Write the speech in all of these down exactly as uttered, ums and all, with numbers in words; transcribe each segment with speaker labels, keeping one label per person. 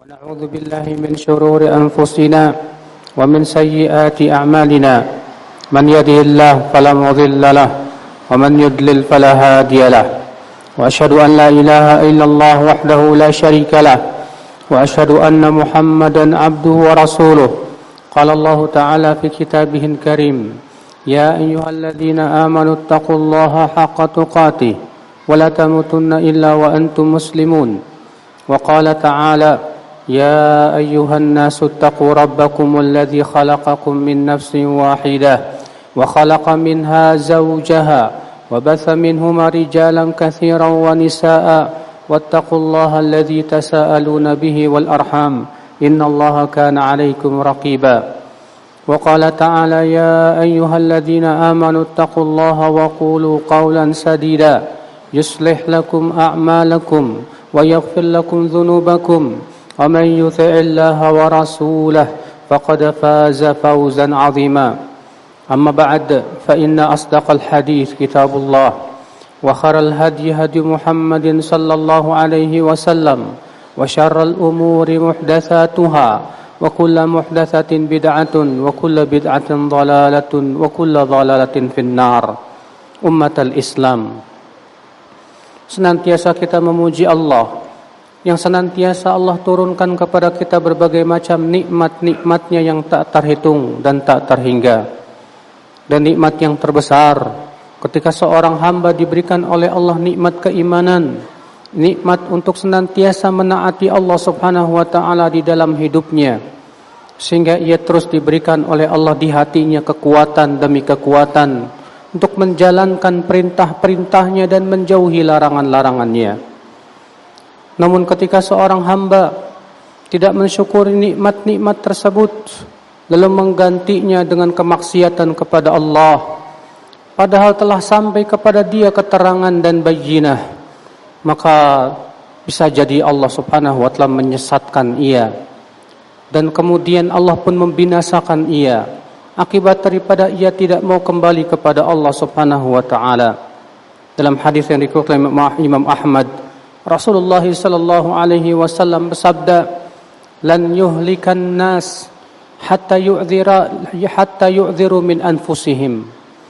Speaker 1: ونعوذ بالله من شرور أنفسنا ومن سيئات أعمالنا من يهده الله فلا مضل له ومن يضلل فلا هادي له وأشهد أن لا إله إلا الله وحده لا شريك له وأشهد أن محمدا عبده ورسوله قال الله تعالى في كتابه الكريم يا أيها الذين آمنوا اتقوا الله حق تقاته ولا تموتن إلا وأنتم مسلمون وقال تعالى يا أيها الناس اتقوا ربكم الذي خلقكم من نفس واحدة وخلق منها زوجها وبث منهما رجالا كثيرا ونساء واتقوا الله الذي تساءلون به والأرحام إن الله كان عليكم رقيبا وقال تعالى يا أيها الذين آمنوا اتقوا الله وقولوا قولا سديدا يصلح لكم أعمالكم ويغفر لكم ذنوبكم ومن يطع الله ورسوله فقد فاز فوزا عظيما أما بعد فإن أصدق الحديث كتاب الله وخير الهدي هدي محمد صلى الله عليه وسلم وشر الأمور محدثاتها وكل محدثة بدعة وكل بدعة ضلالة وكل ضلالة في النار. أمة الإسلام, senantiasa kita memuji Allah yang senantiasa Allah turunkan kepada kita berbagai macam nikmat-nikmatnya yang tak terhitung dan tak terhingga. Dan nikmat yang terbesar ketika seorang hamba diberikan oleh Allah nikmat keimanan, nikmat untuk senantiasa menaati Allah Subhanahu wa taala di dalam hidupnya, sehingga ia terus diberikan oleh Allah di hatinya kekuatan demi kekuatan untuk menjalankan perintah-perintahnya dan menjauhi larangan-larangannya. Namun ketika seorang hamba tidak mensyukuri nikmat-nikmat tersebut, lalu menggantinya dengan kemaksiatan kepada Allah, padahal telah sampai kepada dia keterangan dan bayyinah, maka bisa jadi Allah Subhanahu wa taala menyesatkan ia, dan kemudian Allah pun membinasakan ia akibat daripada ia tidak mau kembali kepada Allah Subhanahu wa taala. Dalam hadis yang dikeluarkan Imam Ahmad, Rasulullah sallallahu alaihi wasallam bersabda, "Lan yuhlikan nas hatta yu'dhira hatta yu'dhiru min anfusihim."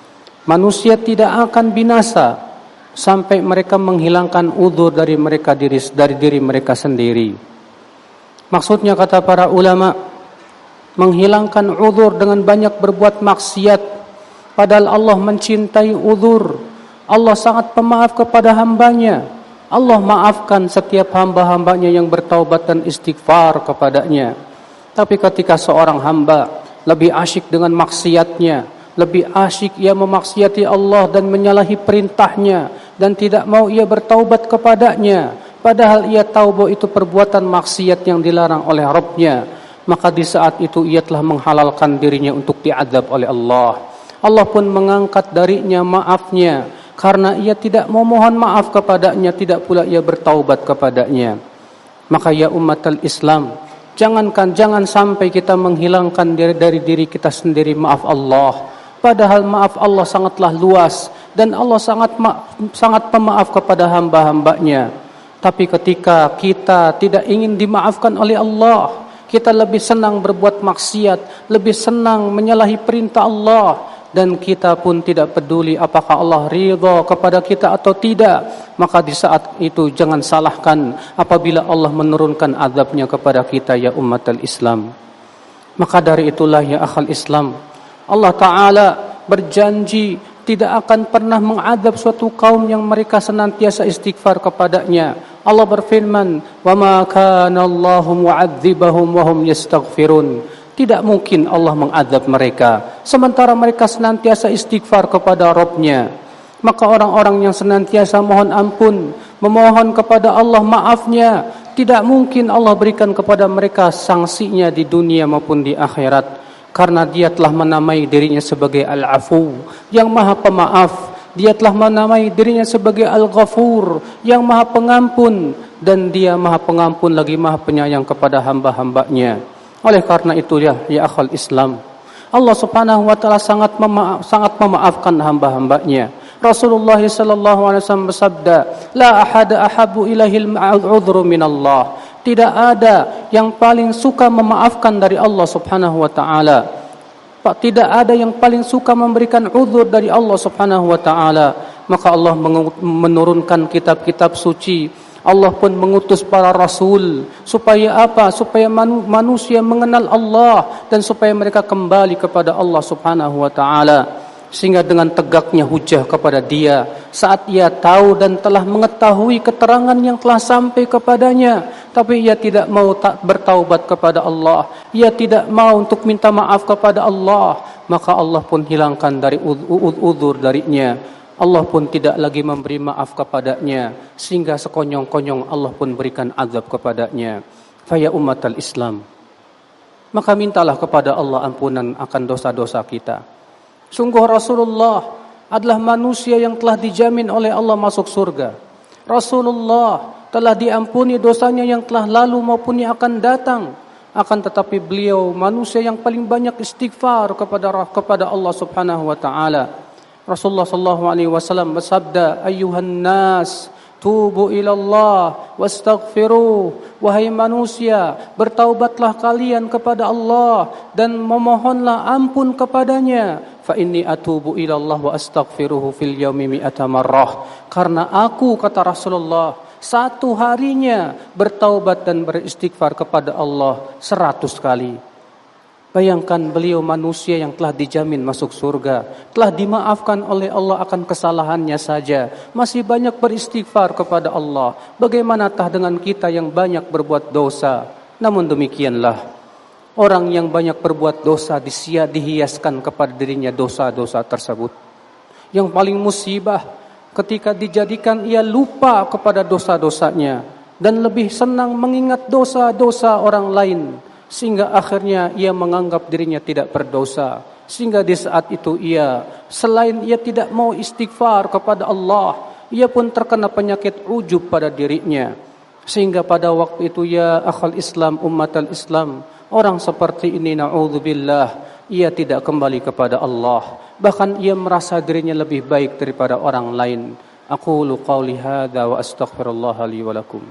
Speaker 1: Manusia tidak akan binasa sampai mereka menghilangkan uzur dari mereka diri dari diri mereka sendiri. Maksudnya, kata para ulama, menghilangkan uzur dengan banyak berbuat maksiat, padahal Allah mencintai uzur. Allah sangat pemaaf kepada hambanya. Allah maafkan setiap hamba-hambanya yang bertaubat dan istighfar kepadanya. Tapi ketika seorang hamba lebih asyik dengan maksiatnya, lebih asyik ia memaksiati Allah dan menyalahi perintahnya, dan tidak mau ia bertaubat kepadanya, padahal ia tahu bahwa itu perbuatan maksiat yang dilarang oleh Rabbnya, maka di saat itu ia telah menghalalkan dirinya untuk diazab oleh Allah. Allah pun mengangkat darinya maafnya, karena ia tidak mau mohon maaf kepadanya, tidak pula ia bertaubat kepadanya. Maka ya umatal Islam, jangankan jangan sampai kita menghilangkan diri dari diri kita sendiri maaf Allah, padahal maaf Allah sangatlah luas dan Allah sangat ma- sangat pemaaf kepada hamba-hambanya. Tapi ketika kita tidak ingin dimaafkan oleh Allah, kita lebih senang berbuat maksiat, lebih senang menyalahi perintah Allah, dan kita pun tidak peduli apakah Allah ridha kepada kita atau tidak, maka di saat itu jangan salahkan apabila Allah menurunkan azabnya kepada kita ya ummatal Islam. Maka dari itulah ya akhal Islam, Allah Ta'ala berjanji tidak akan pernah mengazab suatu kaum yang mereka senantiasa istighfar kepadanya. Allah berfirman, "Wa ma kana Allahu mu'adzibahum wa hum yastaghfirun." Tidak mungkin Allah mengazab mereka sementara mereka senantiasa istighfar kepada Rabb-Nya. Maka orang-orang yang senantiasa mohon ampun, memohon kepada Allah maafnya, tidak mungkin Allah berikan kepada mereka sanksinya di dunia maupun di akhirat, karena dia telah menamai dirinya sebagai Al-Afu, yang maha pemaaf. Dia telah menamai dirinya sebagai Al-Ghafur, yang maha pengampun, dan dia maha pengampun lagi maha penyayang kepada hamba-hambanya. Oleh karena itu ya, ya akhal Islam, Allah Subhanahu wa taala sangat memaaf, sangat memaafkan hamba-hambanya. Rasulullah sallallahu alaihi wasallam bersabda, "La ahada ahabbu ilaihi al-'udhru min Allah." Tidak ada yang paling suka memaafkan dari Allah Subhanahu wa taala. Pak, tidak ada yang paling suka memberikan uzur dari Allah Subhanahu wa taala. Maka Allah menurunkan kitab-kitab suci. Allah pun mengutus para rasul supaya apa? Supaya manu, manusia mengenal Allah dan supaya mereka kembali kepada Allah Subhanahu wa taala. Sehingga dengan tegaknya hujah kepada dia saat ia tahu dan telah mengetahui keterangan yang telah sampai kepadanya, tapi ia tidak mau tak bertaubat kepada Allah, ia tidak mau untuk minta maaf kepada Allah, maka Allah pun hilangkan dari uzur darinya. Allah pun tidak lagi memberi maaf kepadanya, sehingga sekonyong-konyong Allah pun berikan azab kepadanya. Faya ummatal Islam, maka mintalah kepada Allah ampunan akan dosa-dosa kita. Sungguh Rasulullah adalah manusia yang telah dijamin oleh Allah masuk surga. Rasulullah telah diampuni dosanya yang telah lalu maupun yang akan datang. Akan tetapi beliau manusia yang paling banyak istighfar kepada kepada Allah Subhanahu wa taala. Rasulullah sallallahu alaihi wasallam bersabda, "Ayyuhan nas, tubu ilallah wastaghfiruh." Wahai manusia, bertaubatlah kalian kepada Allah dan memohonlah ampun kepadanya. Fa inni atubu ilallah wa astaghfiruhu fil yaumi mi'ata marrah. Karena aku, kata Rasulullah, satu harinya bertaubat dan beristighfar kepada Allah seratus kali. Bayangkan beliau manusia yang telah dijamin masuk surga, telah dimaafkan oleh Allah akan kesalahannya saja, masih banyak beristighfar kepada Allah. Bagaimanakah dengan kita yang banyak berbuat dosa? Namun demikianlah, orang yang banyak berbuat dosa disia dihiaskan kepada dirinya dosa-dosa tersebut. Yang paling musibah ketika dijadikan ia lupa kepada dosa-dosanya dan lebih senang mengingat dosa-dosa orang lain, sehingga akhirnya ia menganggap dirinya tidak berdosa. Sehingga di saat itu ia, selain ia tidak mau istighfar kepada Allah, ia pun terkena penyakit ujub pada dirinya. Sehingga pada waktu itu, ya akhal Islam, ummatal Islam, orang seperti ini na'udzubillah, ia tidak kembali kepada Allah. Bahkan ia merasa dirinya lebih baik daripada orang lain. Aqulu qawli hadza wa astaghfirullah li wa lakum.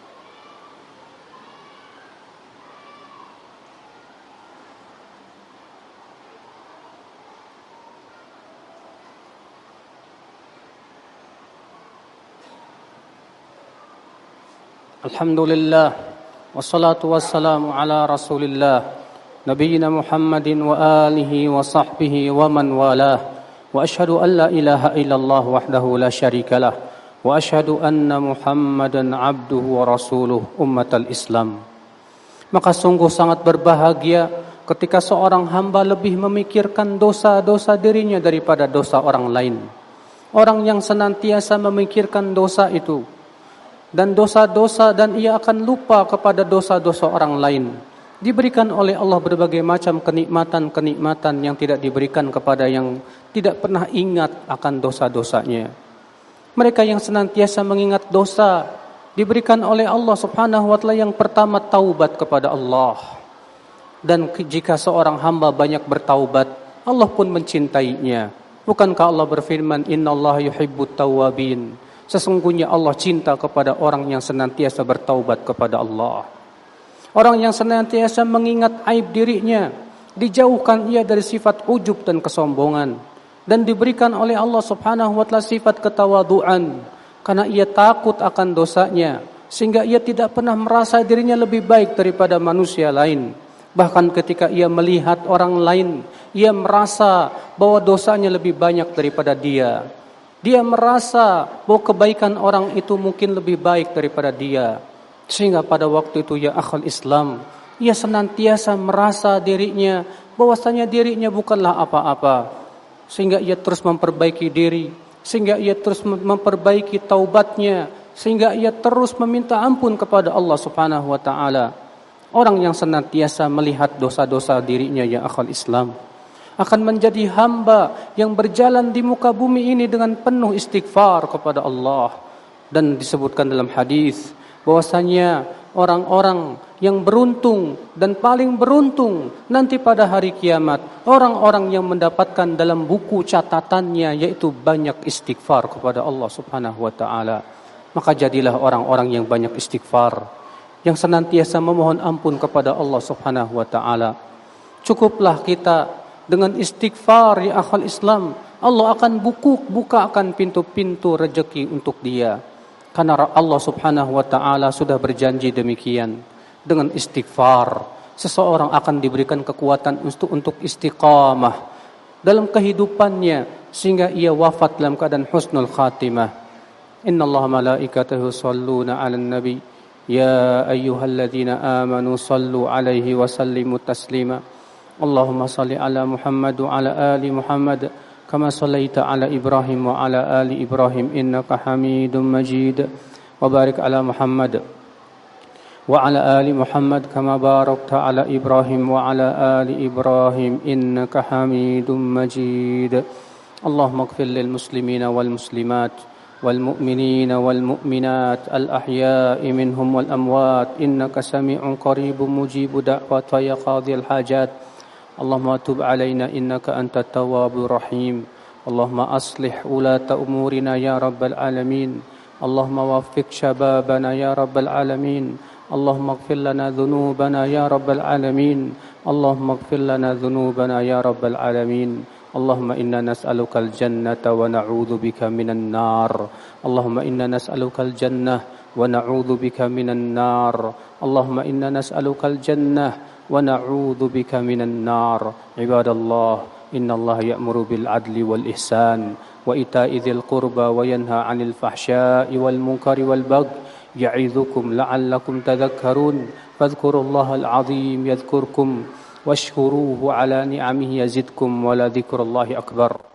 Speaker 1: Alhamdulillah, wassalatu wassalamu ala rasulillah, nabiyina Muhammadin wa alihi wa sahbihi wa man walah, wa ashhadu an la ilaha illallah wahdahu la syarikalah, wa ashhadu anna Muhammadan abduhu wa rasuluh ummatal Islam. Maka sungguh sangat berbahagia ketika seorang hamba lebih memikirkan dosa-dosa dirinya daripada dosa orang lain. Orang yang senantiasa memikirkan dosa itu dan dosa-dosa, dan ia akan lupa kepada dosa-dosa orang lain, diberikan oleh Allah berbagai macam kenikmatan-kenikmatan yang tidak diberikan kepada yang tidak pernah ingat akan dosa-dosanya. Mereka yang senantiasa mengingat dosa diberikan oleh Allah Subhanahu wa taala yang pertama taubat kepada Allah. Dan jika seorang hamba banyak bertaubat, Allah pun mencintainya. Bukankah Allah berfirman, "Innallaha yuhibbut tawwabin." Sesungguhnya Allah cinta kepada orang yang senantiasa bertaubat kepada Allah. Orang yang senantiasa mengingat aib dirinya, dijauhkan ia dari sifat ujub dan kesombongan, dan diberikan oleh Allah Subhanahu wa taala sifat ketawaduan, karena ia takut akan dosanya, sehingga ia tidak pernah merasa dirinya lebih baik daripada manusia lain. Bahkan ketika ia melihat orang lain, ia merasa bahwa dosanya lebih banyak daripada dia. Dia merasa bahwa kebaikan orang itu mungkin lebih baik daripada dia. Sehingga pada waktu itu, ya akhal Islam, ia senantiasa merasa dirinya bahwasanya dirinya bukanlah apa-apa. Sehingga ia terus memperbaiki diri, sehingga ia terus memperbaiki taubatnya, sehingga ia terus meminta ampun kepada Allah Subhanahu wa taala. Orang yang senantiasa melihat dosa-dosa dirinya, ya akhal Islam, akan menjadi hamba yang berjalan di muka bumi ini dengan penuh istighfar kepada Allah. Dan disebutkan dalam hadis bahwasanya orang-orang yang beruntung dan paling beruntung nanti pada hari kiamat, orang-orang yang mendapatkan dalam buku catatannya yaitu banyak istighfar kepada Allah Subhanahu wa taala. Maka jadilah orang-orang yang banyak istighfar. yang senantiasa memohon ampun kepada Allah Subhanahu wa taala. Cukuplah kita dengan istighfar ya akhal Islam. Allah akan buku, bukakan pintu-pintu rezeki untuk dia. Karena Allah Subhanahu wa taala sudah berjanji demikian. Dengan istighfar, seseorang akan diberikan kekuatan untuk untuk istiqamah dalam kehidupannya sehingga ia wafat dalam keadaan husnul khatimah. Innallaha malaikatahu shalluna 'alan nabi ya ayyuhalladzina amanu sallu 'alaihi wa sallimu taslima. Allahumma salli 'ala Muhammad wa 'ala ali Muhammad kama sallaita 'ala Ibrahim wa 'ala ali Ibrahim innaka Hamidum Majid. Wa barik 'ala Muhammad wa 'ala ali Muhammad kama barakta 'ala Ibrahim wa 'ala ali Ibrahim innaka Hamidum Majid. Allahumma ighfir lil muslimina wal muslimat والمؤمنين والمؤمنات الأحياء منهم والأموات إنك سميع قريب مجيب دعوات يا قاضي الحاجات. اللهم تب علينا إنك أنت التواب الرحيم. اللهم أصلح ولاة أمورنا يا رب العالمين. اللهم وفق شبابنا يا رب العالمين. اللهم اغفر لنا ذنوبنا يا رب العالمين. اللهم اغفر لنا ذنوبنا يا رب العالمين. اللهم إنا نسألك الجنة ونعوذ بك من النار. اللهم إنا نسألك الجنة ونعوذ بك من النار. اللهم إنا نسألك الجنة ونعوذ بك من النار. عباد الله إن الله يأمر بالعدل والإحسان وإيتاء ذي القربى وينهى عن الفحشاء والمنكر والبغي يعظكم لعلكم تذكرون. فاذكروا الله العظيم يذكركم واشكروه على نعمه يزدكم ولذكر الله أكبر.